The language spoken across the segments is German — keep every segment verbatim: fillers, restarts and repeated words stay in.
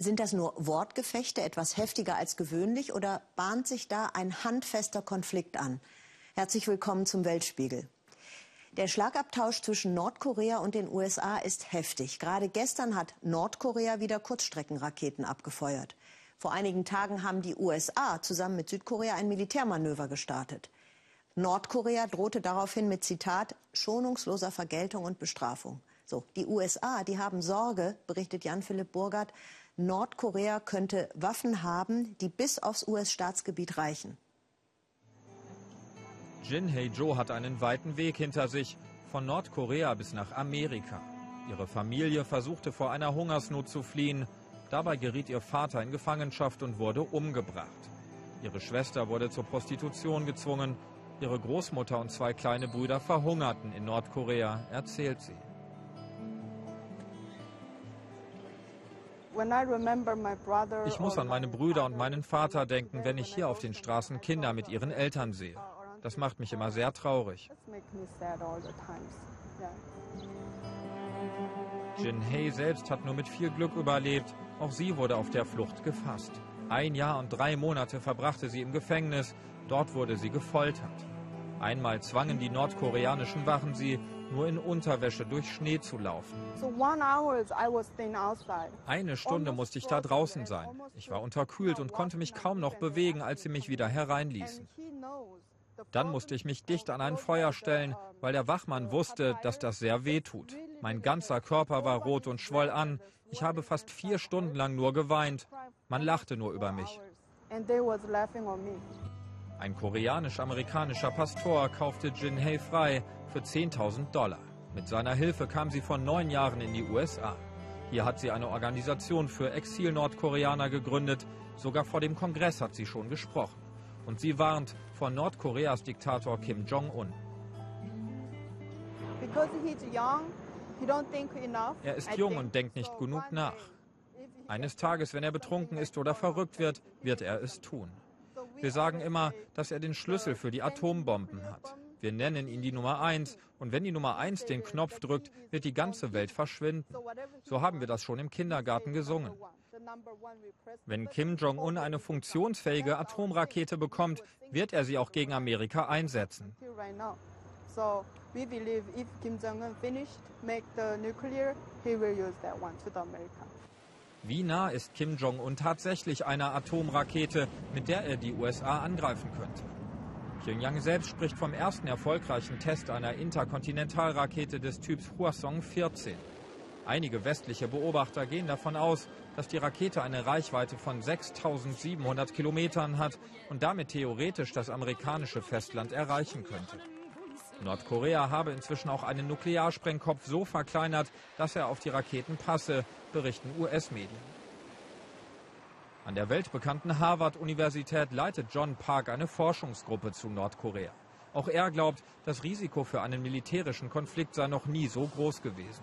Sind das nur Wortgefechte, etwas heftiger als gewöhnlich, oder bahnt sich da ein handfester Konflikt an? Herzlich willkommen zum Weltspiegel. Der Schlagabtausch zwischen Nordkorea und den U S A ist heftig. Gerade gestern hat Nordkorea wieder Kurzstreckenraketen abgefeuert. Vor einigen Tagen haben die U S A zusammen mit Südkorea ein Militärmanöver gestartet. Nordkorea drohte daraufhin mit, Zitat, schonungsloser Vergeltung und Bestrafung. So, die U S A, die haben Sorge, berichtet Jan-Philipp Burgert, Nordkorea könnte Waffen haben, die bis aufs U S-Staatsgebiet reichen. Jin Hae-jo hat einen weiten Weg hinter sich, von Nordkorea bis nach Amerika. Ihre Familie versuchte vor einer Hungersnot zu fliehen. Dabei geriet ihr Vater in Gefangenschaft und wurde umgebracht. Ihre Schwester wurde zur Prostitution gezwungen. Ihre Großmutter und zwei kleine Brüder verhungerten in Nordkorea, erzählt sie. Ich muss an meine Brüder und meinen Vater denken, wenn ich hier auf den Straßen Kinder mit ihren Eltern sehe. Das macht mich immer sehr traurig. Jin Hae selbst hat nur mit viel Glück überlebt. Auch sie wurde auf der Flucht gefasst. Ein Jahr und drei Monate verbrachte sie im Gefängnis. Dort wurde sie gefoltert. Einmal zwangen die nordkoreanischen Wachen sie, nur in Unterwäsche durch Schnee zu laufen. Eine Stunde musste ich da draußen sein. Ich war unterkühlt und konnte mich kaum noch bewegen, als sie mich wieder hereinließen. Dann musste ich mich dicht an ein Feuer stellen, weil der Wachmann wusste, dass das sehr weh tut. Mein ganzer Körper war rot und schwoll an. Ich habe fast vier Stunden lang nur geweint. Man lachte nur über mich. Ein koreanisch-amerikanischer Pastor kaufte Jin Hae frei für zehntausend Dollar. Mit seiner Hilfe kam sie vor neun Jahren in die U S A. Hier hat sie eine Organisation für Exil-Nordkoreaner gegründet. Sogar vor dem Kongress hat sie schon gesprochen. Und sie warnt vor Nordkoreas Diktator Kim Jong-un. Er ist jung und denkt nicht genug nach. Eines Tages, wenn er betrunken ist oder verrückt wird, wird er es tun. Wir sagen immer, dass er den Schlüssel für die Atombomben hat. Wir nennen ihn die Nummer eins. Und wenn die Nummer eins den Knopf drückt, wird die ganze Welt verschwinden. So haben wir das schon im Kindergarten gesungen. Wenn Kim Jong-un eine funktionsfähige Atomrakete bekommt, wird er sie auch gegen Amerika einsetzen. Wie nah ist Kim Jong-un tatsächlich einer Atomrakete, mit der er die U S A angreifen könnte? Pyongyang selbst spricht vom ersten erfolgreichen Test einer Interkontinentalrakete des Typs Hwasong vierzehn. Einige westliche Beobachter gehen davon aus, dass die Rakete eine Reichweite von sechstausendsiebenhundert Kilometern hat und damit theoretisch das amerikanische Festland erreichen könnte. Nordkorea habe inzwischen auch einen Nuklearsprengkopf so verkleinert, dass er auf die Raketen passe, berichten U S-Medien. An der weltbekannten Harvard-Universität leitet John Park eine Forschungsgruppe zu Nordkorea. Auch er glaubt, das Risiko für einen militärischen Konflikt sei noch nie so groß gewesen.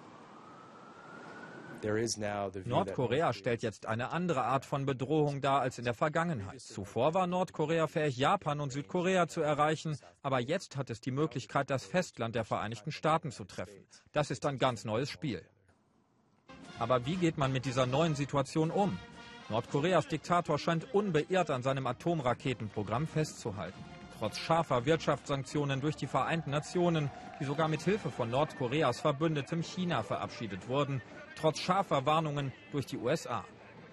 Nordkorea stellt jetzt eine andere Art von Bedrohung dar als in der Vergangenheit. Zuvor war Nordkorea fähig, Japan und Südkorea zu erreichen, aber jetzt hat es die Möglichkeit, das Festland der Vereinigten Staaten zu treffen. Das ist ein ganz neues Spiel. Aber wie geht man mit dieser neuen Situation um? Nordkoreas Diktator scheint unbeirrt an seinem Atomraketenprogramm festzuhalten. Trotz scharfer Wirtschaftssanktionen durch die Vereinten Nationen, die sogar mit Hilfe von Nordkoreas Verbündetem China verabschiedet wurden, trotz scharfer Warnungen durch die U S A.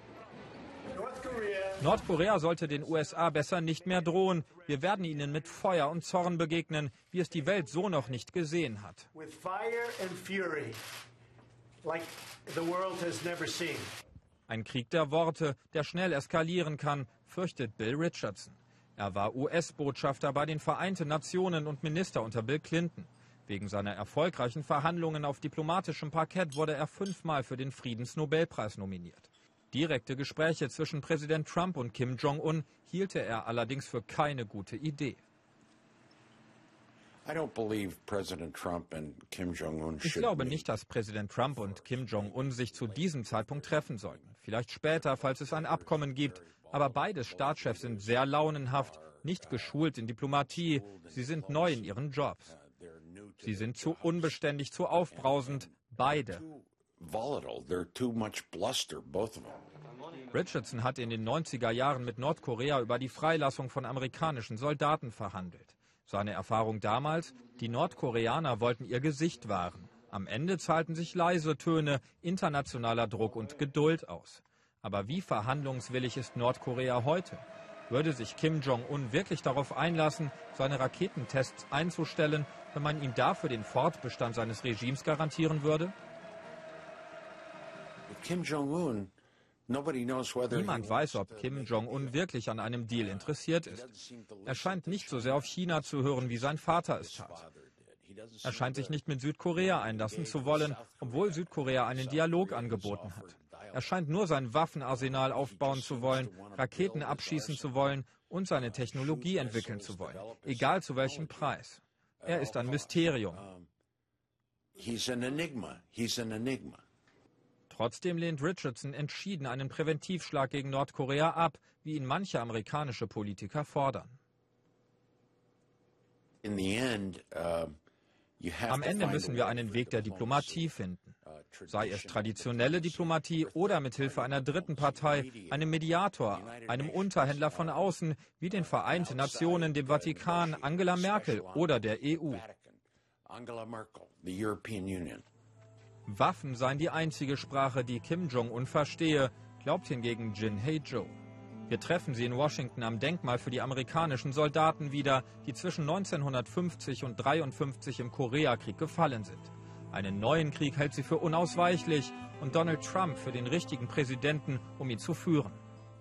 Nordkorea sollte den U S A besser nicht mehr drohen. Wir werden ihnen mit Feuer und Zorn begegnen, wie es die Welt so noch nicht gesehen hat. Ein Krieg der Worte, der schnell eskalieren kann, fürchtet Bill Richardson. Er war U S-Botschafter bei den Vereinten Nationen und Minister unter Bill Clinton. Wegen seiner erfolgreichen Verhandlungen auf diplomatischem Parkett wurde er fünfmal für den Friedensnobelpreis nominiert. Direkte Gespräche zwischen Präsident Trump und Kim Jong-un hielte er allerdings für keine gute Idee. Ich glaube nicht, dass Präsident Trump und Kim Jong-un sich zu diesem Zeitpunkt treffen sollten. Vielleicht später, falls es ein Abkommen gibt. Aber beide Staatschefs sind sehr launenhaft, nicht geschult in Diplomatie. Sie sind neu in ihren Jobs. Sie sind zu unbeständig, zu aufbrausend, beide. Richardson hat in den neunziger Jahren mit Nordkorea über die Freilassung von amerikanischen Soldaten verhandelt. Seine Erfahrung damals: Die Nordkoreaner wollten ihr Gesicht wahren. Am Ende zahlten sich leise Töne, internationaler Druck und Geduld aus. Aber wie verhandlungswillig ist Nordkorea heute? Würde sich Kim Jong-un wirklich darauf einlassen, seine Raketentests einzustellen, wenn man ihm dafür den Fortbestand seines Regimes garantieren würde? Kim Jong-un Niemand weiß, ob Kim Jong-un wirklich an einem Deal interessiert ist. Er scheint nicht so sehr auf China zu hören, wie sein Vater es tat. Er scheint sich nicht mit Südkorea einlassen zu wollen, obwohl Südkorea einen Dialog angeboten hat. Er scheint nur sein Waffenarsenal aufbauen zu wollen, Raketen abschießen zu wollen und seine Technologie entwickeln zu wollen, egal zu welchem Preis. Er ist ein Mysterium. Trotzdem lehnt Richardson entschieden einen Präventivschlag gegen Nordkorea ab, wie ihn manche amerikanische Politiker fordern. Am Ende müssen wir einen Weg der Diplomatie finden. Sei es traditionelle Diplomatie oder mit Hilfe einer dritten Partei, einem Mediator, einem Unterhändler von außen, wie den Vereinten Nationen, dem Vatikan, Angela Merkel oder der E U. Waffen seien die einzige Sprache, die Kim Jong-un verstehe, glaubt hingegen Jin Hae-jo. Wir treffen sie in Washington am Denkmal für die amerikanischen Soldaten wieder, die zwischen neunzehnhundertfünfzig und neunzehnhundertdreiundfünfzig im Koreakrieg gefallen sind. Einen neuen Krieg hält sie für unausweichlich und Donald Trump für den richtigen Präsidenten, um ihn zu führen.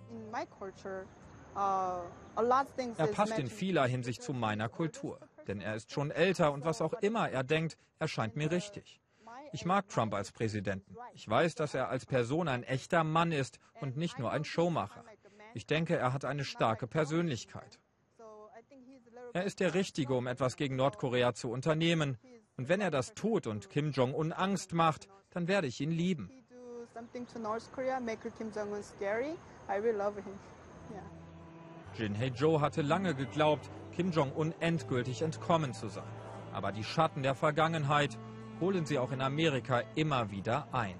Er passt in vieler Hinsicht zu meiner Kultur, denn er ist schon älter und was auch immer er denkt, erscheint mir richtig. Ich mag Trump als Präsidenten. Ich weiß, dass er als Person ein echter Mann ist und nicht nur ein Showmacher. Ich denke, er hat eine starke Persönlichkeit. Er ist der Richtige, um etwas gegen Nordkorea zu unternehmen. Und wenn er das tut und Kim Jong-un Angst macht, dann werde ich ihn lieben. Jin Hae-jo hatte lange geglaubt, Kim Jong-un endgültig entkommen zu sein. Aber die Schatten der Vergangenheit holen sie auch in Amerika immer wieder ein.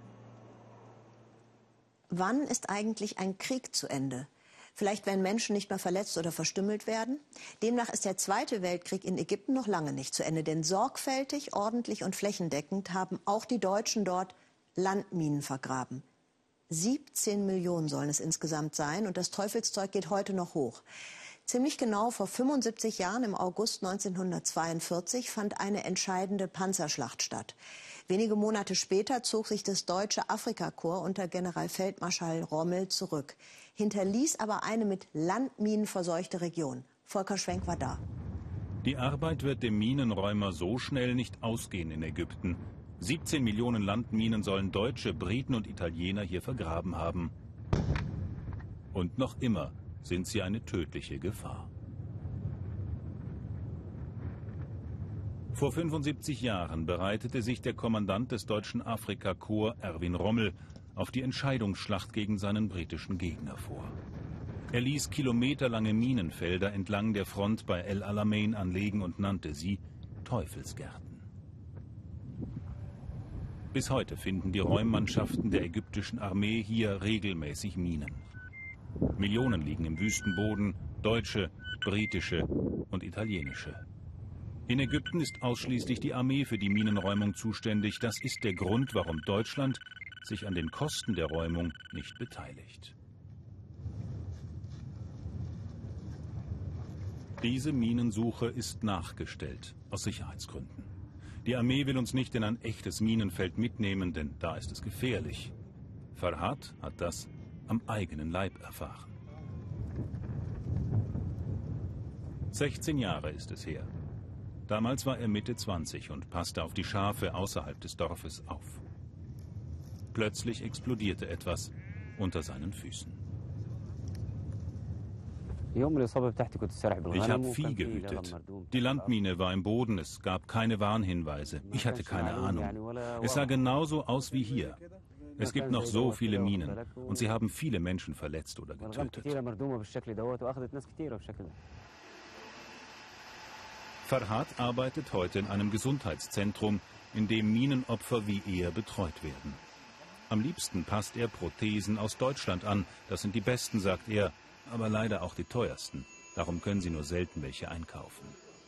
Wann ist eigentlich ein Krieg zu Ende? Vielleicht, wenn Menschen nicht mehr verletzt oder verstümmelt werden? Demnach ist der Zweite Weltkrieg in Ägypten noch lange nicht zu Ende. Denn sorgfältig, ordentlich und flächendeckend haben auch die Deutschen dort Landminen vergraben. siebzehn Millionen sollen es insgesamt sein und das Teufelszeug geht heute noch hoch. Ziemlich genau vor fünfundsiebzig Jahren, im August neunzehnhundertzweiundvierzig, fand eine entscheidende Panzerschlacht statt. Wenige Monate später zog sich das deutsche Afrikakorps unter Generalfeldmarschall Rommel zurück, hinterließ aber eine mit Landminen verseuchte Region. Volker Schwenk war da. Die Arbeit wird dem Minenräumer so schnell nicht ausgehen in Ägypten. siebzehn Millionen Landminen sollen Deutsche, Briten und Italiener hier vergraben haben. Und noch immer sind sie eine tödliche Gefahr. Vor fünfundsiebzig Jahren bereitete sich der Kommandant des deutschen Afrikakorps, Erwin Rommel, auf die Entscheidungsschlacht gegen seinen britischen Gegner vor. Er ließ kilometerlange Minenfelder entlang der Front bei El Alamein anlegen und nannte sie Teufelsgärten. Bis heute finden die Räummannschaften der ägyptischen Armee hier regelmäßig Minen. Millionen liegen im Wüstenboden, deutsche, britische und italienische. In Ägypten ist ausschließlich die Armee für die Minenräumung zuständig. Das ist der Grund, warum Deutschland sich an den Kosten der Räumung nicht beteiligt. Diese Minensuche ist nachgestellt, aus Sicherheitsgründen. Die Armee will uns nicht in ein echtes Minenfeld mitnehmen, denn da ist es gefährlich. Farhad hat das am eigenen Leib erfahren. sechzehn Jahre ist es her. Damals war er Mitte zwanzig und passte auf die Schafe außerhalb des Dorfes auf. Plötzlich explodierte etwas unter seinen Füßen. Ich habe Vieh gehütet. Die Landmine war im Boden, es gab keine Warnhinweise. Ich hatte keine Ahnung. Es sah genauso aus wie hier. Es gibt noch so viele Minen und sie haben viele Menschen verletzt oder getötet. Farhad arbeitet heute in einem Gesundheitszentrum, in dem Minenopfer wie er betreut werden. Am liebsten passt er Prothesen aus Deutschland an. Das sind die besten, sagt er, aber leider auch die teuersten. Darum können sie nur selten welche einkaufen.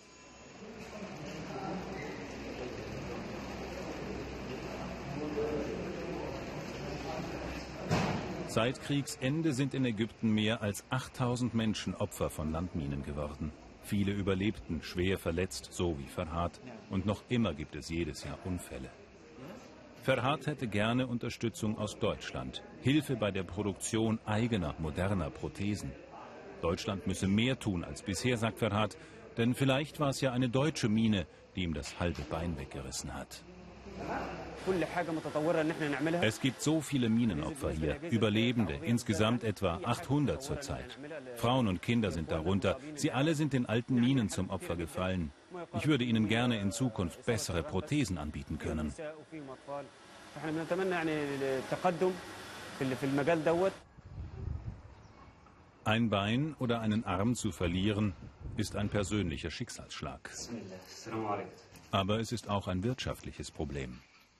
Seit Kriegsende sind in Ägypten mehr als achttausend Menschen Opfer von Landminen geworden. Viele überlebten, schwer verletzt, so wie Ferhat. Und noch immer gibt es jedes Jahr Unfälle. Ferhat hätte gerne Unterstützung aus Deutschland. Hilfe bei der Produktion eigener, moderner Prothesen. Deutschland müsse mehr tun als bisher, sagt Ferhat. Denn vielleicht war es ja eine deutsche Mine, die ihm das halbe Bein weggerissen hat. Es gibt so viele Minenopfer hier, Überlebende, insgesamt etwa achthundert zurzeit. Frauen und Kinder sind darunter. Sie alle sind den alten Minen zum Opfer gefallen. Ich würde ihnen gerne in Zukunft bessere Prothesen anbieten können. Ein Bein oder einen Arm zu verlieren, ist ein persönlicher Schicksalsschlag. Aber es ist auch ein wirtschaftliches Problem.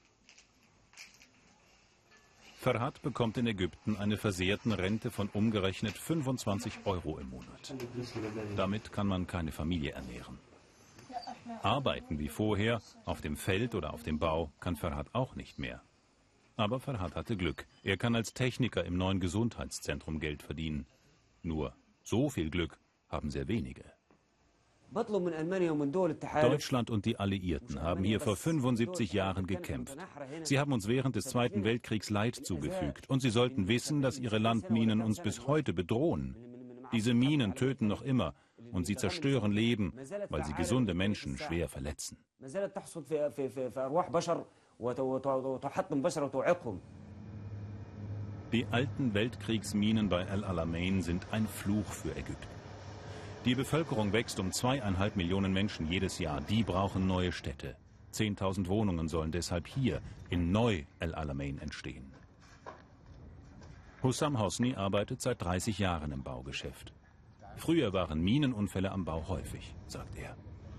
Ferhat bekommt in Ägypten eine versehrten Rente von umgerechnet fünfundzwanzig Euro im Monat. Damit kann man keine Familie ernähren. Arbeiten wie vorher, auf dem Feld oder auf dem Bau, kann Ferhat auch nicht mehr. Aber Ferhat hatte Glück. Er kann als Techniker im neuen Gesundheitszentrum Geld verdienen. Nur so viel Glück haben sehr wenige. Deutschland und die Alliierten haben hier vor fünfundsiebzig Jahren gekämpft. Sie haben uns während des Zweiten Weltkriegs Leid zugefügt. Und sie sollten wissen, dass ihre Landminen uns bis heute bedrohen. Diese Minen töten noch immer und sie zerstören Leben, weil sie gesunde Menschen schwer verletzen. Die alten Weltkriegsminen bei El Alamein sind ein Fluch für Ägypten. Die Bevölkerung wächst um zweieinhalb Millionen Menschen jedes Jahr. Die brauchen neue Städte. Zehntausend Wohnungen sollen deshalb hier in Neu El Alamein entstehen. Hussam Hosni arbeitet seit dreißig Jahren im Baugeschäft. Früher waren Minenunfälle am Bau häufig, sagt er.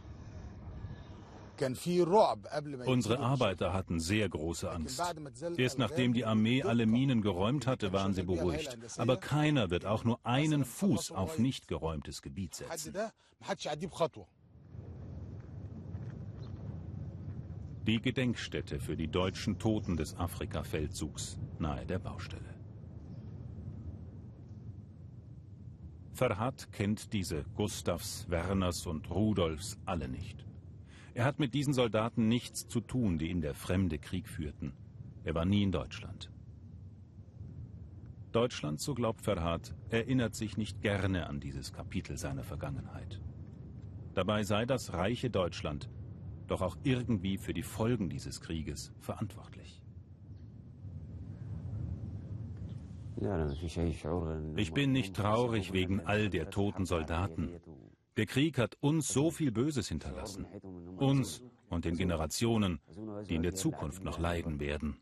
Unsere Arbeiter hatten sehr große Angst. Erst nachdem die Armee alle Minen geräumt hatte, waren sie beruhigt. Aber keiner wird auch nur einen Fuß auf nicht geräumtes Gebiet setzen. Die Gedenkstätte für die deutschen Toten des Afrika-Feldzugs nahe der Baustelle. Ferhat kennt diese Gustavs, Werners und Rudolfs alle nicht. Er hat mit diesen Soldaten nichts zu tun, die in der Fremde Krieg führten. Er war nie in Deutschland. Deutschland, so glaubt Ferhat, erinnert sich nicht gerne an dieses Kapitel seiner Vergangenheit. Dabei sei das reiche Deutschland doch auch irgendwie für die Folgen dieses Krieges verantwortlich. Ich bin nicht traurig wegen all der toten Soldaten. Der Krieg hat uns so viel Böses hinterlassen. Uns und den Generationen, die in der Zukunft noch leiden werden.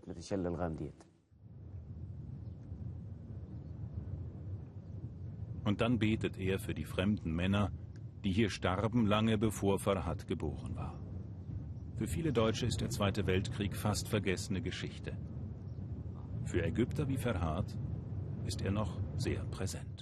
Und dann betet er für die fremden Männer, die hier starben, lange bevor Ferhat geboren war. Für viele Deutsche ist der Zweite Weltkrieg fast vergessene Geschichte. Für Ägypter wie Ferhat ist er noch sehr präsent.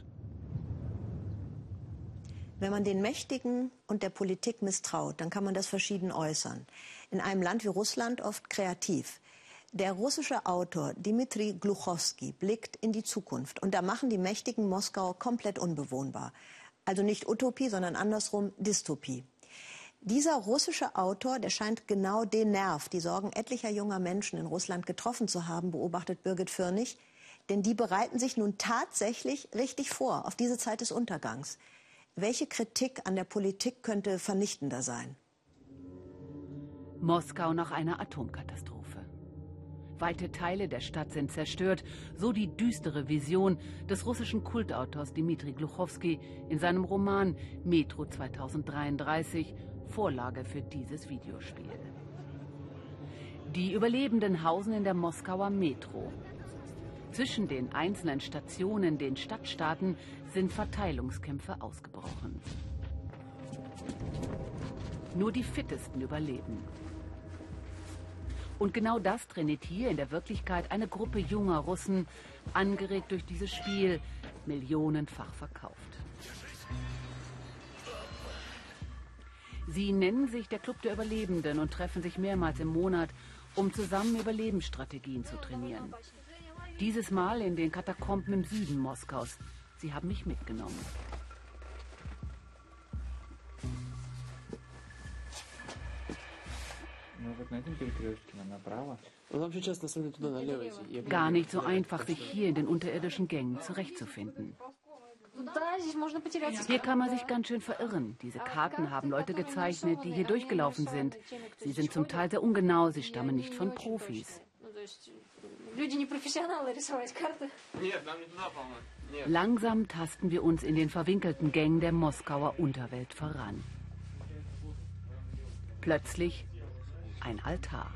Wenn man den Mächtigen und der Politik misstraut, dann kann man das verschieden äußern. In einem Land wie Russland oft kreativ. Der russische Autor Dmitri Gluchowski blickt in die Zukunft. Und da machen die Mächtigen Moskau komplett unbewohnbar. Also nicht Utopie, sondern andersrum Dystopie. Dieser russische Autor, der scheint genau den Nerv, die Sorgen etlicher junger Menschen in Russland getroffen zu haben, beobachtet Birgit Fürnig. Denn die bereiten sich nun tatsächlich richtig vor auf diese Zeit des Untergangs. Welche Kritik an der Politik könnte vernichtender sein? Moskau nach einer Atomkatastrophe. Weite Teile der Stadt sind zerstört, so die düstere Vision des russischen Kultautors Dmitri Gluchowski in seinem Roman Metro zweitausenddreiunddreißig, Vorlage für dieses Videospiel. Die Überlebenden hausen in der Moskauer Metro. Zwischen den einzelnen Stationen, den Stadtstaaten, sind Verteilungskämpfe ausgebrochen. Nur die Fittesten überleben. Und genau das trainiert hier in der Wirklichkeit eine Gruppe junger Russen, angeregt durch dieses Spiel, millionenfach verkauft. Sie nennen sich der Club der Überlebenden und treffen sich mehrmals im Monat, um zusammen Überlebensstrategien zu trainieren. Dieses Mal in den Katakomben im Süden Moskaus. Sie haben mich mitgenommen. Gar nicht so einfach, sich hier in den unterirdischen Gängen zurechtzufinden. Hier kann man sich ganz schön verirren. Diese Karten haben Leute gezeichnet, die hier durchgelaufen sind. Sie sind zum Teil sehr ungenau, sie stammen nicht von Profis. Langsam tasten wir uns in den verwinkelten Gängen der Moskauer Unterwelt voran. Plötzlich ein Altar.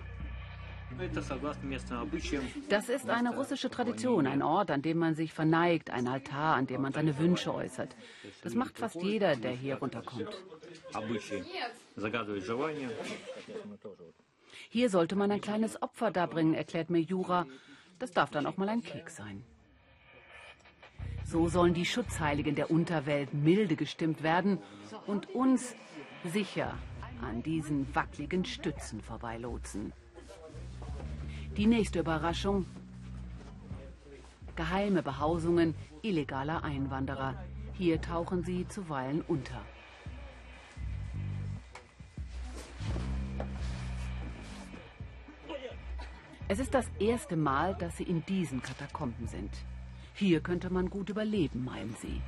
Das ist eine russische Tradition, ein Ort, an dem man sich verneigt, ein Altar, an dem man seine Wünsche äußert. Das macht fast jeder, der hier runterkommt. Hier sollte man ein kleines Opfer darbringen, erklärt mir Jura. Das darf dann auch mal ein Keks sein. So sollen die Schutzheiligen der Unterwelt milde gestimmt werden und uns sicher an diesen wackeligen Stützen vorbeilotsen. Die nächste Überraschung: geheime Behausungen illegaler Einwanderer. Hier tauchen sie zuweilen unter. Es ist das erste Mal, dass sie in diesen Katakomben sind. Hier könnte man gut überleben, meinen sie.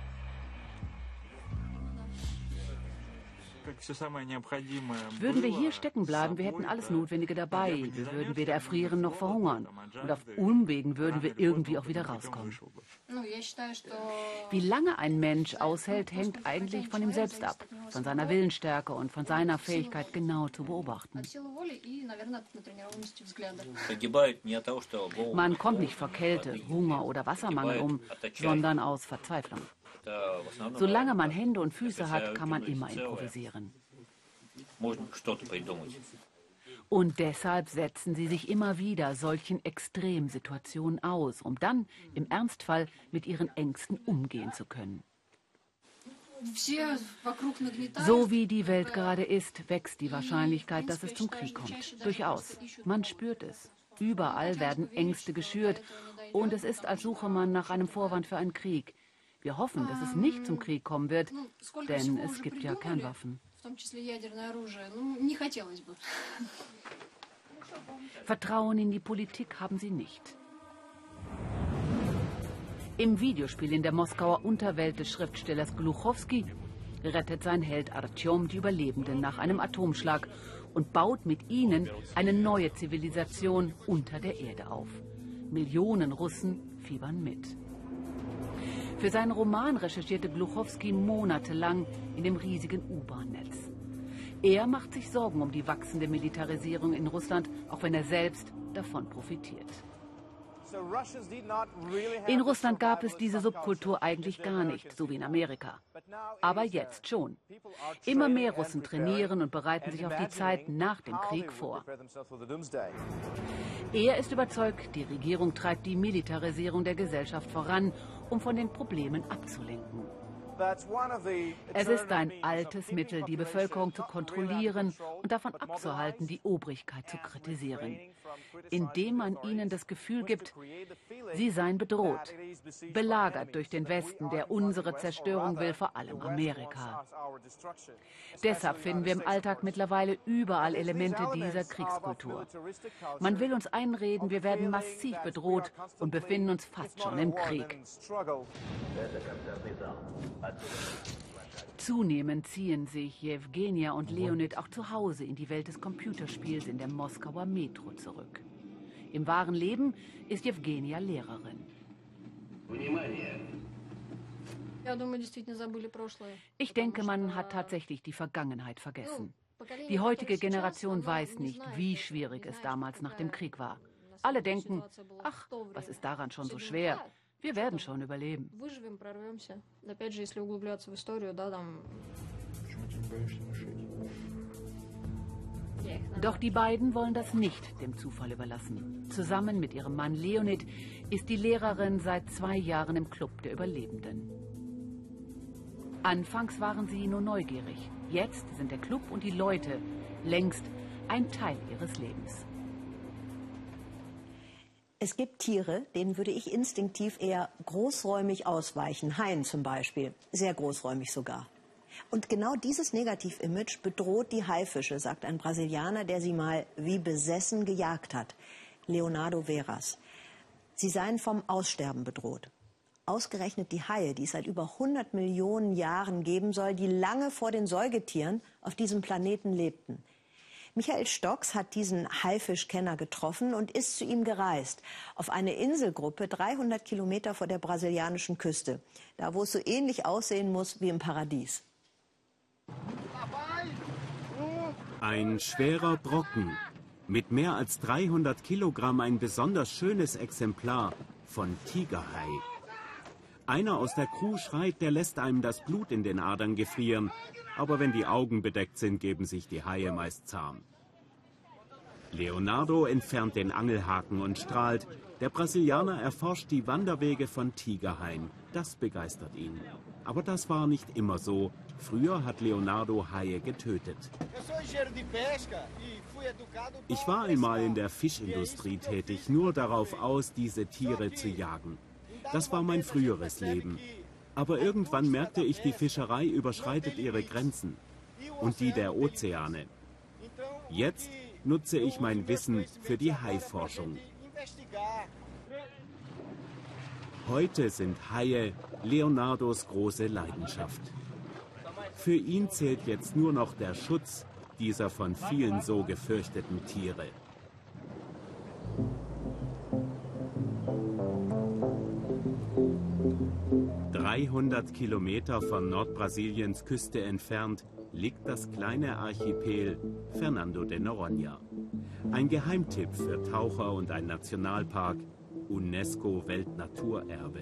Würden wir hier stecken bleiben, wir hätten alles Notwendige dabei. Wir würden weder erfrieren noch verhungern. Und auf Umwegen würden wir irgendwie auch wieder rauskommen. Wie lange ein Mensch aushält, hängt eigentlich von ihm selbst ab. Von seiner Willensstärke und von seiner Fähigkeit, genau zu beobachten. Man kommt nicht vor Kälte, Hunger oder Wassermangel um, sondern aus Verzweiflung. Solange man Hände und Füße hat, kann man immer improvisieren. Und deshalb setzen sie sich immer wieder solchen Extremsituationen aus, um dann im Ernstfall mit ihren Ängsten umgehen zu können. So wie die Welt gerade ist, wächst die Wahrscheinlichkeit, dass es zum Krieg kommt. Durchaus. Man spürt es. Überall werden Ängste geschürt und es ist, als suche man nach einem Vorwand für einen Krieg. Wir hoffen, dass es nicht zum Krieg kommen wird, denn es gibt ja Kernwaffen. Vertrauen in die Politik haben sie nicht. Im Videospiel in der Moskauer Unterwelt des Schriftstellers Gluchowski rettet sein Held Artjom die Überlebenden nach einem Atomschlag und baut mit ihnen eine neue Zivilisation unter der Erde auf. Millionen Russen fiebern mit. Für seinen Roman recherchierte Gluchowski monatelang in dem riesigen U-Bahn-Netz. Er macht sich Sorgen um die wachsende Militarisierung in Russland, auch wenn er selbst davon profitiert. In Russland gab es diese Subkultur eigentlich gar nicht, so wie in Amerika. Aber jetzt schon. Immer mehr Russen trainieren und bereiten sich auf die Zeit nach dem Krieg vor. Er ist überzeugt, die Regierung treibt die Militarisierung der Gesellschaft voran, um von den Problemen abzulenken. Es ist ein altes Mittel, die Bevölkerung zu kontrollieren und davon abzuhalten, die Obrigkeit zu kritisieren, indem man ihnen das Gefühl gibt, sie seien bedroht, belagert durch den Westen, der unsere Zerstörung will, vor allem Amerika. Deshalb finden wir im Alltag mittlerweile überall Elemente dieser Kriegskultur. Man will uns einreden, wir werden massiv bedroht und befinden uns fast schon im Krieg. Zunehmend ziehen sich Jewgenia und Leonid auch zu Hause in die Welt des Computerspiels in der Moskauer Metro zurück. Im wahren Leben ist Jewgenia Lehrerin. Ich denke, man hat tatsächlich die Vergangenheit vergessen. Die heutige Generation weiß nicht, wie schwierig es damals nach dem Krieg war. Alle denken, ach, was ist daran schon so schwer? Wir werden schon überleben. Doch die beiden wollen das nicht dem Zufall überlassen. Zusammen mit ihrem Mann Leonid ist die Lehrerin seit zwei Jahren im Club der Überlebenden. Anfangs waren sie nur neugierig. Jetzt sind der Club und die Leute längst ein Teil ihres Lebens. Es gibt Tiere, denen würde ich instinktiv eher großräumig ausweichen. Haien zum Beispiel, sehr großräumig sogar. Und genau dieses Negativ-Image bedroht die Haifische, sagt ein Brasilianer, der sie mal wie besessen gejagt hat. Leonardo Veras. Sie seien vom Aussterben bedroht. Ausgerechnet die Haie, die es seit über hundert Millionen Jahren geben soll, die lange vor den Säugetieren auf diesem Planeten lebten. Michael Stocks hat diesen Haifischkenner getroffen und ist zu ihm gereist. Auf eine Inselgruppe dreihundert Kilometer vor der brasilianischen Küste. Da, wo es so ähnlich aussehen muss wie im Paradies. Ein schwerer Brocken. Mit mehr als dreihundert Kilogramm ein besonders schönes Exemplar von Tigerhai. Einer aus der Crew schreit, der lässt einem das Blut in den Adern gefrieren. Aber wenn die Augen bedeckt sind, geben sich die Haie meist zahm. Leonardo entfernt den Angelhaken und strahlt. Der Brasilianer erforscht die Wanderwege von Tigerhaien. Das begeistert ihn. Aber das war nicht immer so. Früher hat Leonardo Haie getötet. Ich war einmal in der Fischindustrie tätig, nur darauf aus, diese Tiere zu jagen. Das war mein früheres Leben. Aber irgendwann merkte ich, die Fischerei überschreitet ihre Grenzen und die der Ozeane. Jetzt nutze ich mein Wissen für die Haiforschung. Heute sind Haie Leonardos große Leidenschaft. Für ihn zählt jetzt nur noch der Schutz dieser von vielen so gefürchteten Tiere. dreihundert Kilometer von Nordbrasiliens Küste entfernt liegt das kleine Archipel Fernando de Noronha. Ein Geheimtipp für Taucher und ein Nationalpark, UNESCO-Weltnaturerbe.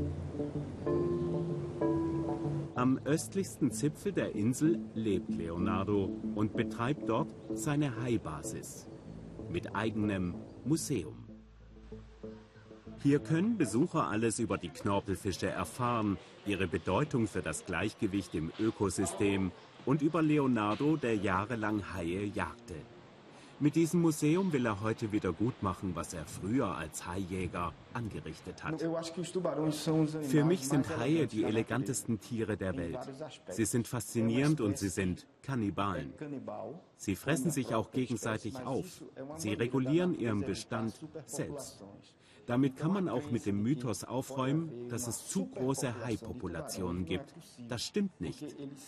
Am östlichsten Zipfel der Insel lebt Leonardo und betreibt dort seine Haibasis mit eigenem Museum. Hier können Besucher alles über die Knorpelfische erfahren, ihre Bedeutung für das Gleichgewicht im Ökosystem und über Leonardo, der jahrelang Haie jagte. Mit diesem Museum will er heute wieder gut machen, was er früher als Haijäger angerichtet hat. Für mich sind Haie die elegantesten Tiere der Welt. Sie sind faszinierend und sie sind Kannibalen. Sie fressen sich auch gegenseitig auf. Sie regulieren ihren Bestand selbst. Damit kann man auch mit dem Mythos aufräumen, dass es zu große Haipopulationen gibt. Das stimmt nicht.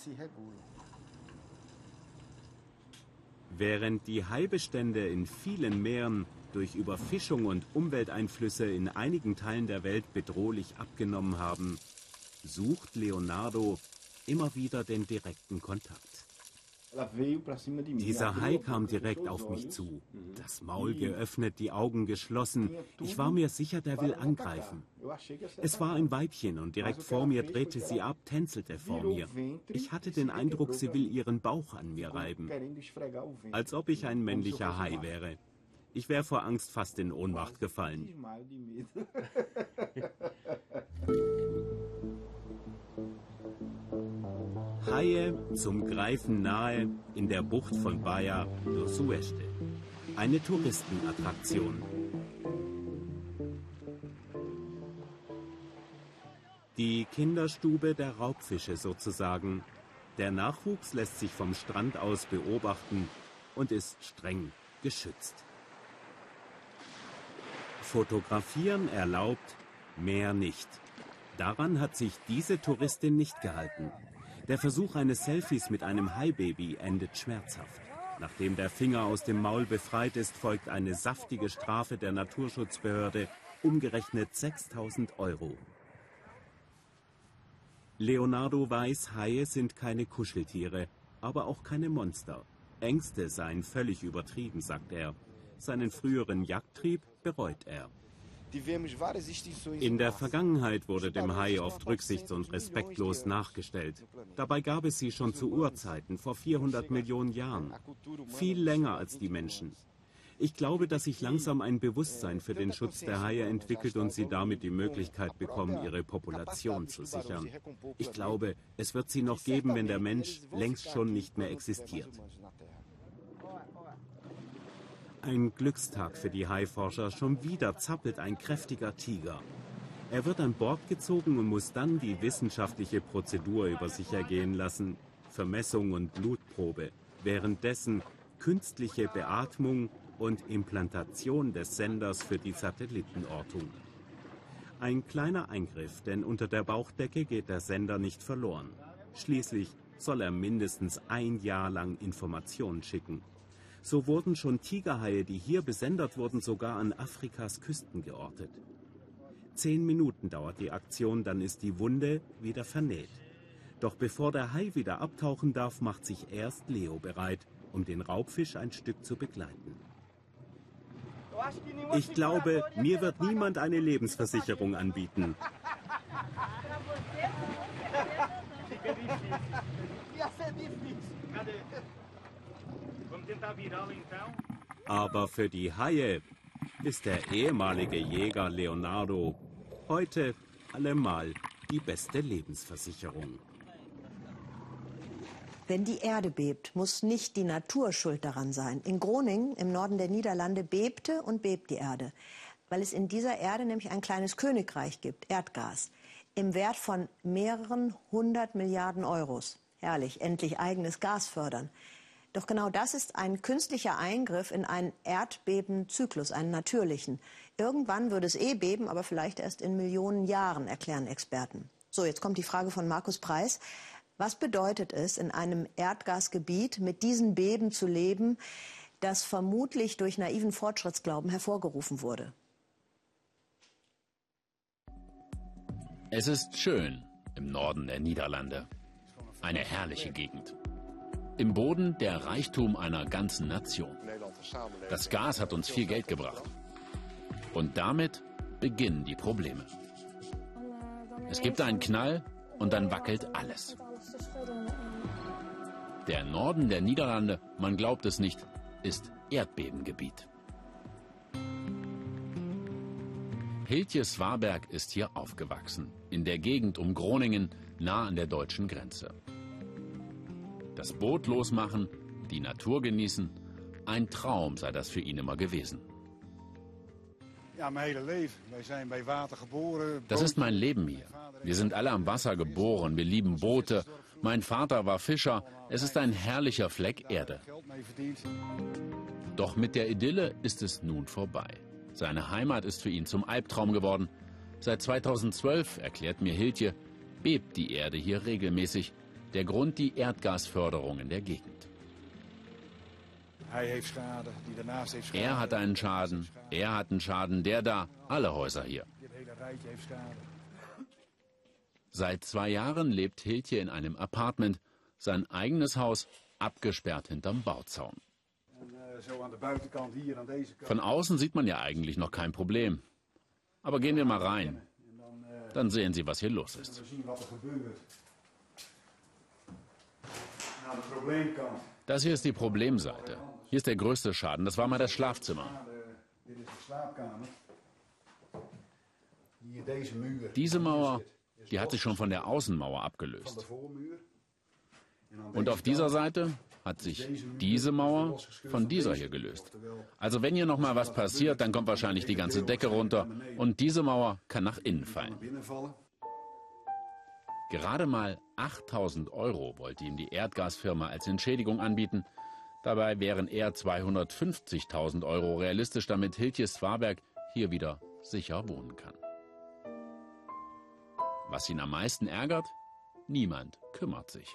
Während die Haibestände in vielen Meeren durch Überfischung und Umwelteinflüsse in einigen Teilen der Welt bedrohlich abgenommen haben, sucht Leonardo immer wieder den direkten Kontakt. Dieser Hai kam direkt auf mich zu. Das Maul geöffnet, die Augen geschlossen. Ich war mir sicher, der will angreifen. Es war ein Weibchen und direkt vor mir drehte sie ab, tänzelte vor mir. Ich hatte den Eindruck, sie will ihren Bauch an mir reiben. Als ob ich ein männlicher Hai wäre. Ich wäre vor Angst fast in Ohnmacht gefallen. Haie zum Greifen nahe in der Bucht von Baía do Oeste. Eine Touristenattraktion. Die Kinderstube der Raubfische sozusagen. Der Nachwuchs lässt sich vom Strand aus beobachten und ist streng geschützt. Fotografieren erlaubt, mehr nicht. Daran hat sich diese Touristin nicht gehalten. Der Versuch eines Selfies mit einem Haibaby endet schmerzhaft. Nachdem der Finger aus dem Maul befreit ist, folgt eine saftige Strafe der Naturschutzbehörde, umgerechnet sechstausend Euro. Leonardo weiß, Haie sind keine Kuscheltiere, aber auch keine Monster. Ängste seien völlig übertrieben, sagt er. Seinen früheren Jagdtrieb bereut er. In der Vergangenheit wurde dem Hai oft rücksichts- und respektlos nachgestellt. Dabei gab es sie schon zu Urzeiten, vor vierhundert Millionen Jahren. Viel länger als die Menschen. Ich glaube, dass sich langsam ein Bewusstsein für den Schutz der Haie entwickelt und sie damit die Möglichkeit bekommen, ihre Population zu sichern. Ich glaube, es wird sie noch geben, wenn der Mensch längst schon nicht mehr existiert. Ein Glückstag für die Haiforscher. Schon wieder zappelt ein kräftiger Tiger. Er wird an Bord gezogen und muss dann die wissenschaftliche Prozedur über sich ergehen lassen. Vermessung und Blutprobe. Währenddessen künstliche Beatmung und Implantation des Senders für die Satellitenortung. Ein kleiner Eingriff, denn unter der Bauchdecke geht der Sender nicht verloren. Schließlich soll er mindestens ein Jahr lang Informationen schicken. So wurden schon Tigerhaie, die hier besendet wurden, sogar an Afrikas Küsten geortet. Zehn Minuten dauert die Aktion, dann ist die Wunde wieder vernäht. Doch bevor der Hai wieder abtauchen darf, macht sich erst Leo bereit, um den Raubfisch ein Stück zu begleiten. Ich glaube, mir wird niemand eine Lebensversicherung anbieten. Aber für die Haie ist der ehemalige Jäger Leonardo heute allemal die beste Lebensversicherung. Wenn die Erde bebt, muss nicht die Natur schuld daran sein. In Groningen, im Norden der Niederlande, bebte und bebt die Erde, weil es in dieser Erde nämlich ein kleines Königreich gibt, Erdgas, im Wert von mehreren hundert Milliarden Euros. Herrlich, endlich eigenes Gas fördern. Doch genau das ist ein künstlicher Eingriff in einen Erdbebenzyklus, einen natürlichen. Irgendwann würde es eh beben, aber vielleicht erst in Millionen Jahren, erklären Experten. So, jetzt kommt die Frage von Markus Preis. Was bedeutet es, in einem Erdgasgebiet mit diesen Beben zu leben, das vermutlich durch naiven Fortschrittsglauben hervorgerufen wurde? Es ist schön im Norden der Niederlande. Eine herrliche Gegend. Im Boden der Reichtum einer ganzen Nation. Das Gas hat uns viel Geld gebracht. Und damit beginnen die Probleme. Es gibt einen Knall und dann wackelt alles. Der Norden der Niederlande, man glaubt es nicht, ist Erdbebengebiet. Hiltje Svaberg ist hier aufgewachsen, in der Gegend um Groningen, nah an der deutschen Grenze. Das Boot losmachen, die Natur genießen, ein Traum sei das für ihn immer gewesen. Das ist mein Leben hier. Wir sind alle am Wasser geboren, wir lieben Boote. Mein Vater war Fischer, es ist ein herrlicher Fleck Erde. Doch mit der Idylle ist es nun vorbei. Seine Heimat ist für ihn zum Albtraum geworden. Seit zweitausendzwölf, erklärt mir Hiltje, bebt die Erde hier regelmäßig. Der Grund die Erdgasförderung in der Gegend. Er hat einen Schaden, er hat einen Schaden, der da, alle Häuser hier. Seit zwei Jahren lebt Hiltje in einem Apartment, sein eigenes Haus abgesperrt hinterm Bauzaun. Von außen sieht man ja eigentlich noch kein Problem. Aber gehen wir mal rein, dann sehen Sie, was hier los ist. Das hier ist die Problemseite. Hier ist der größte Schaden. Das war mal das Schlafzimmer. Diese Mauer, die hat sich schon von der Außenmauer abgelöst. Und auf dieser Seite hat sich diese Mauer von dieser hier gelöst. Also wenn hier noch mal was passiert, dann kommt wahrscheinlich die ganze Decke runter und diese Mauer kann nach innen fallen. Gerade mal achttausend Euro wollte ihm die Erdgasfirma als Entschädigung anbieten. Dabei wären eher zweihundertfünfzigtausend Euro realistisch, damit Hiltje Svaberg hier wieder sicher wohnen kann. Was ihn am meisten ärgert? Niemand kümmert sich.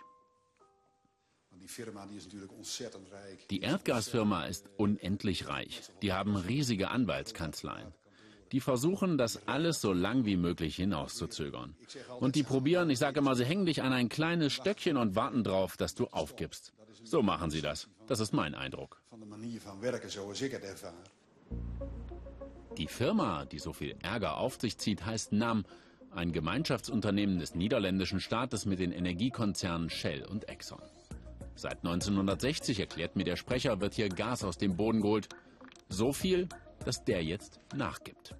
Die Erdgasfirma ist unendlich reich. Die haben riesige Anwaltskanzleien. Die versuchen, das alles so lang wie möglich hinauszuzögern. Und die probieren, ich sage immer, sie hängen dich an ein kleines Stöckchen und warten drauf, dass du aufgibst. So machen sie das. Das ist mein Eindruck. Die Firma, die so viel Ärger auf sich zieht, heißt N A M, ein Gemeinschaftsunternehmen des niederländischen Staates mit den Energiekonzernen Shell und Exxon. Seit neunzehnhundertsechzig, erklärt mir der Sprecher, wird hier Gas aus dem Boden geholt. So viel, dass der jetzt nachgibt.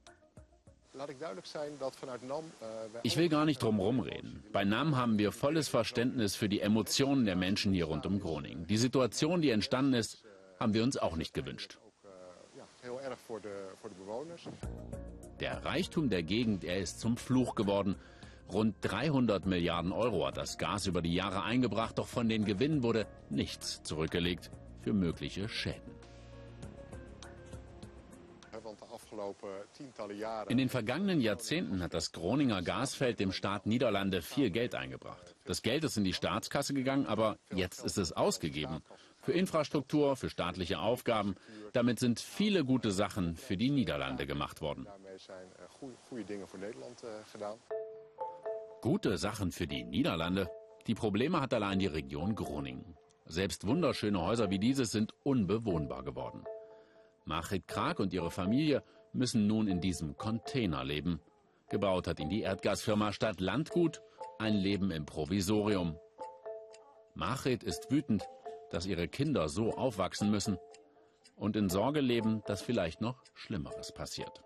Ich will gar nicht drum herum reden. Bei N A M haben wir volles Verständnis für die Emotionen der Menschen hier rund um Groningen. Die Situation, die entstanden ist, haben wir uns auch nicht gewünscht. Der Reichtum der Gegend, er ist zum Fluch geworden. Rund dreihundert Milliarden Euro hat das Gas über die Jahre eingebracht, doch von den Gewinnen wurde nichts zurückgelegt für mögliche Schäden. In den vergangenen Jahrzehnten hat das Groninger Gasfeld dem Staat Niederlande viel Geld eingebracht. Das Geld ist in die Staatskasse gegangen, aber jetzt ist es ausgegeben. Für Infrastruktur, für staatliche Aufgaben. Damit sind viele gute Sachen für die Niederlande gemacht worden. Gute Sachen für die Niederlande? Die Probleme hat allein die Region Groningen. Selbst wunderschöne Häuser wie dieses sind unbewohnbar geworden. Margriet Kraak und ihre Familie müssen nun in diesem Container leben. Gebaut hat ihn die Erdgasfirma Stadt Landgut, ein Leben im Provisorium. Margriet ist wütend, dass ihre Kinder so aufwachsen müssen und in Sorge leben, dass vielleicht noch Schlimmeres passiert.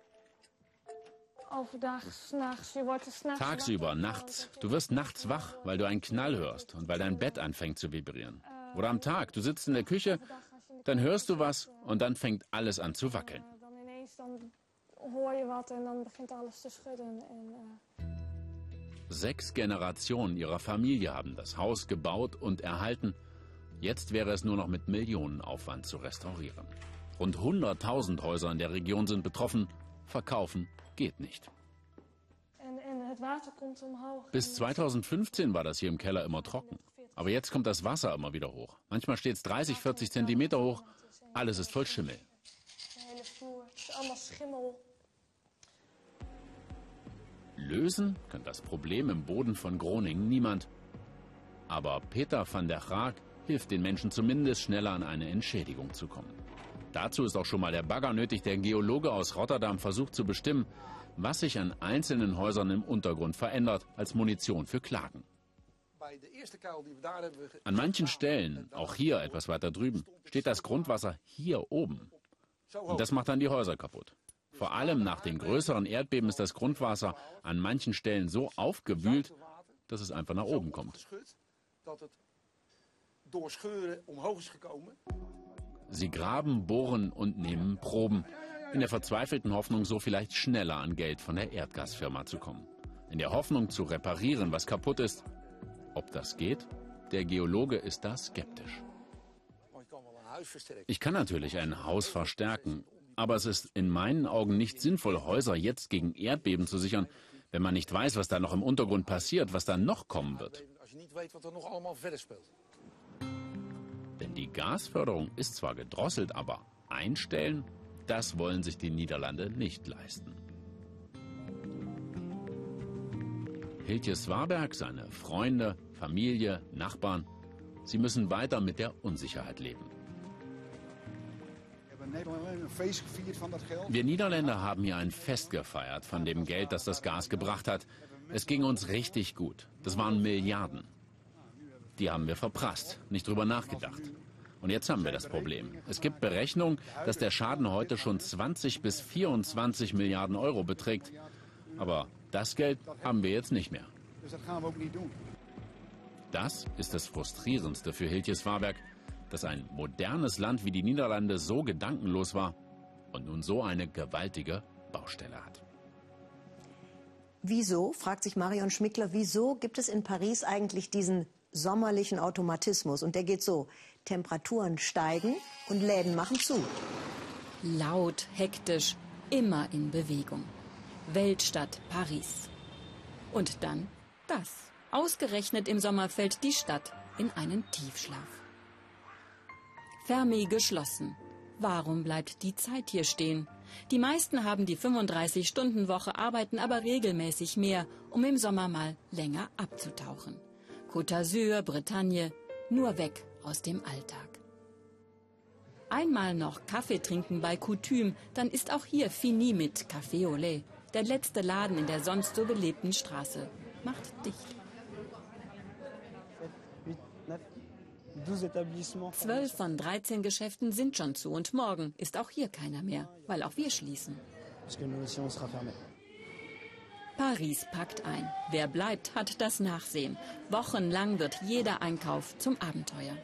Tagsüber, nachts. Du wirst nachts wach, weil du einen Knall hörst und weil dein Bett anfängt zu vibrieren. Oder am Tag, du sitzt in der Küche, dann hörst du was und dann fängt alles an zu wackeln. Sechs Generationen ihrer Familie haben das Haus gebaut und erhalten. Jetzt wäre es nur noch mit Millionenaufwand zu restaurieren. Rund hunderttausend Häuser in der Region sind betroffen. Verkaufen geht nicht. Bis zweitausendfünfzehn war das hier im Keller immer trocken. Aber jetzt kommt das Wasser immer wieder hoch. Manchmal steht es dreißig, vierzig Zentimeter hoch. Alles ist voll Schimmel. Lösen kann das Problem im Boden von Groningen niemand. Aber Peter van der Graag hilft den Menschen zumindest schneller an eine Entschädigung zu kommen. Dazu ist auch schon mal der Bagger nötig. Der Geologe aus Rotterdam versucht zu bestimmen, was sich an einzelnen Häusern im Untergrund verändert, als Munition für Klagen. An manchen Stellen, auch hier etwas weiter drüben, steht das Grundwasser hier oben. Und das macht dann die Häuser kaputt. Vor allem nach den größeren Erdbeben ist das Grundwasser an manchen Stellen so aufgewühlt, dass es einfach nach oben kommt. Sie graben, bohren und nehmen Proben, in der verzweifelten Hoffnung, so vielleicht schneller an Geld von der Erdgasfirma zu kommen. In der Hoffnung zu reparieren, was kaputt ist. Ob das geht? Der Geologe ist da skeptisch. Ich kann natürlich ein Haus verstärken, aber es ist in meinen Augen nicht sinnvoll, Häuser jetzt gegen Erdbeben zu sichern, wenn man nicht weiß, was da noch im Untergrund passiert, was da noch kommen wird. Denn die Gasförderung ist zwar gedrosselt, aber einstellen, das wollen sich die Niederlande nicht leisten. Hiltje Swaberg, seine Freunde, Familie, Nachbarn, sie müssen weiter mit der Unsicherheit leben. Wir Niederländer haben hier ein Fest gefeiert von dem Geld, das das Gas gebracht hat. Es ging uns richtig gut. Das waren Milliarden. Die haben wir verprasst, nicht drüber nachgedacht. Und jetzt haben wir das Problem. Es gibt Berechnungen, dass der Schaden heute schon zwanzig bis vierundzwanzig Milliarden Euro beträgt. Aber das Geld haben wir jetzt nicht mehr. Das ist das Frustrierendste für Hiltje Swaberg, dass ein modernes Land wie die Niederlande so gedankenlos war und nun so eine gewaltige Baustelle hat. Wieso, fragt sich Marion Schmickler, wieso gibt es in Paris eigentlich diesen sommerlichen Automatismus? Und der geht so: Temperaturen steigen und Läden machen zu. Laut, hektisch, immer in Bewegung. Weltstadt Paris. Und dann das. Ausgerechnet im Sommer fällt die Stadt in einen Tiefschlaf. Fermi geschlossen. Warum bleibt die Zeit hier stehen? Die meisten haben die fünfunddreißig-Stunden-Woche, arbeiten aber regelmäßig mehr, um im Sommer mal länger abzutauchen. Côte d'Azur, Bretagne, nur weg aus dem Alltag. Einmal noch Kaffee trinken bei Coutume, dann ist auch hier fini mit Café au lait. Der letzte Laden in der sonst so belebten Straße macht dicht. Zwölf von dreizehn Geschäften sind schon zu und morgen ist auch hier keiner mehr, weil auch wir schließen. Paris packt ein. Wer bleibt, hat das Nachsehen. Wochenlang wird jeder Einkauf zum Abenteuer.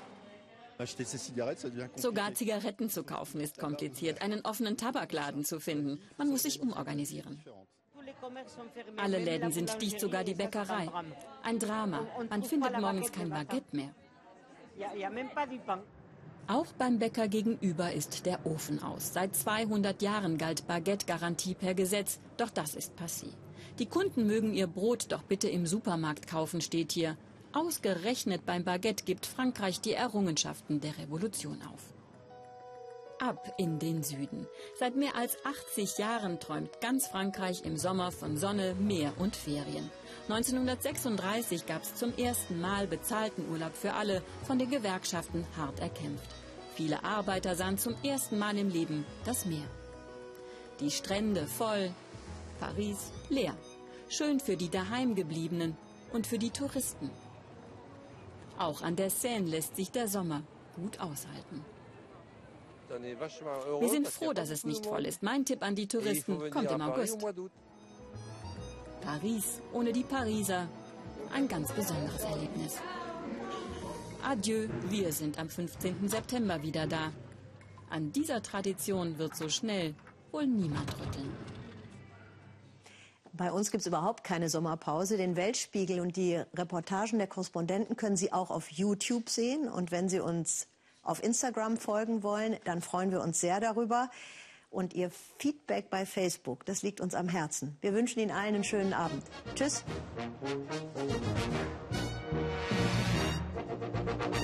Sogar Zigaretten zu kaufen ist kompliziert, einen offenen Tabakladen zu finden. Man muss sich umorganisieren. Alle Läden sind dicht, sogar die Bäckerei. Ein Drama. Man findet morgens kein Baguette mehr. Auch beim Bäcker gegenüber ist der Ofen aus. Seit zweihundert Jahren galt Baguette-Garantie per Gesetz, doch das ist passé. Die Kunden mögen ihr Brot doch bitte im Supermarkt kaufen, steht hier. Ausgerechnet beim Baguette gibt Frankreich die Errungenschaften der Revolution auf. Ab in den Süden. Seit mehr als achtzig Jahren träumt ganz Frankreich im Sommer von Sonne, Meer und Ferien. neunzehnhundertsechsunddreißig gab es zum ersten Mal bezahlten Urlaub für alle, von den Gewerkschaften hart erkämpft. Viele Arbeiter sahen zum ersten Mal im Leben das Meer. Die Strände voll, Paris leer. Schön für die Daheimgebliebenen und für die Touristen. Auch an der Seine lässt sich der Sommer gut aushalten. Wir sind froh, dass es nicht voll ist. Mein Tipp an die Touristen, kommt im August. Paris ohne die Pariser, ein ganz besonderes Erlebnis. Adieu, wir sind am fünfzehnten September wieder da. An dieser Tradition wird so schnell wohl niemand rütteln. Bei uns gibt es überhaupt keine Sommerpause. Den Weltspiegel und die Reportagen der Korrespondenten können Sie auch auf YouTube sehen. Und wenn Sie uns auf Instagram folgen wollen, dann freuen wir uns sehr darüber. Und Ihr Feedback bei Facebook, das liegt uns am Herzen. Wir wünschen Ihnen allen einen schönen Abend. Tschüss.